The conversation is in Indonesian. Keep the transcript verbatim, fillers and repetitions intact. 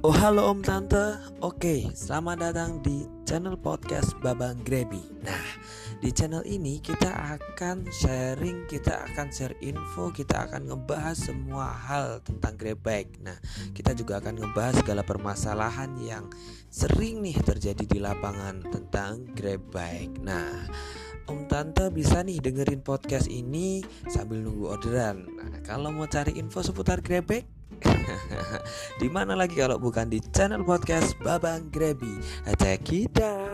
Oh halo Om Tante. Oke, selamat datang di channel podcast Babang Grebi. Nah, di channel ini kita akan sharing, kita akan share info, kita akan ngebahas semua hal tentang Grab bike. Nah, kita juga akan ngebahas segala permasalahan yang sering nih terjadi di lapangan tentang Grab bike. Nah, Om Tante bisa nih dengerin podcast ini sambil nunggu orderan. Nah, kalau mau cari info seputar Grab bike, di mana lagi kalau bukan di channel podcast Babang Grebi. Check it out.